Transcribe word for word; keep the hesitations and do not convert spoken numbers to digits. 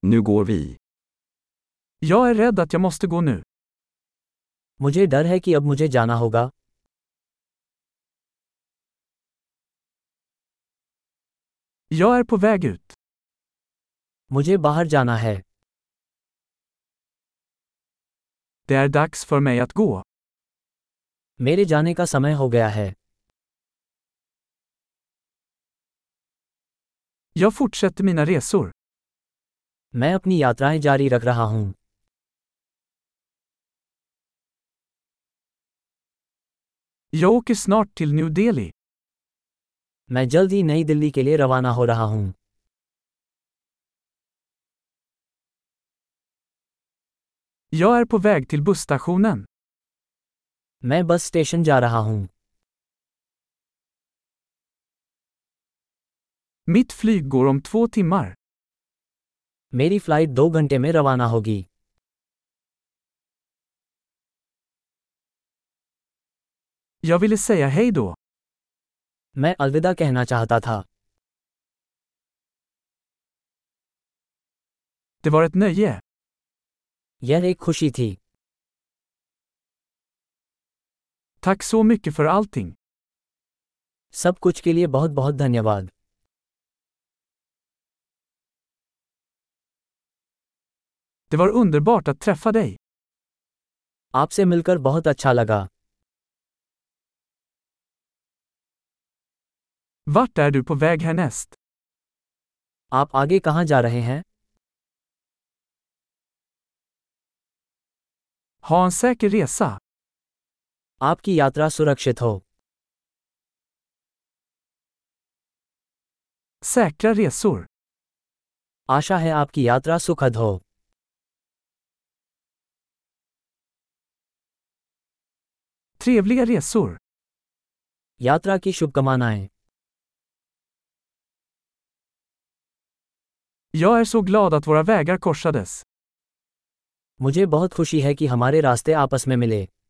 Nu går vi. Jag är rädd att jag måste gå nu. मुझे डर है कि अब मुझे जाना होगा. Jag är på väg ut. मुझे बाहर जाना है. Det är dags för mig att gå. मेरे जाने का समय हो गया है. Jag fortsätter mina resor. मैं अपनी यात्राएं जारी रख रहा हूं. Jag åker snart till New Delhi. मैं जल्द ही नई दिल्ली के लिए रवाना हो रहा हूं. Jag är på väg till busstationen. मैं बस स्टेशन जा रहा हूं. Mitt flyg går om två timmar. मेरी फ्लाइट दो घंटे में रवाना होगी. Jag ville säga hej då. मैं अलविदा कहना चाहता था. Det var ett nöje. यह एक खुशी थी. Tack så mycket för allting. सब कुछ के लिए बहुत बहुत धन्यवाद. Det var underbart att träffa dig. आपसे मिलकर बहुत अच्छा लगा. Vart är du på väg härnäst? आप आगे कहां जा रहे हैं? Ha en säker resa. आपकी यात्रा सुरक्षित हो. Säkra resor. आशा है आपकी यात्रा सुखद हो. Trevliga resor. यात्रा की शुभकामनाएं. Jag är så glad att våra vägar korsades. मुझे बहुत खुशी है कि हमारे रास्ते आपस में मिले.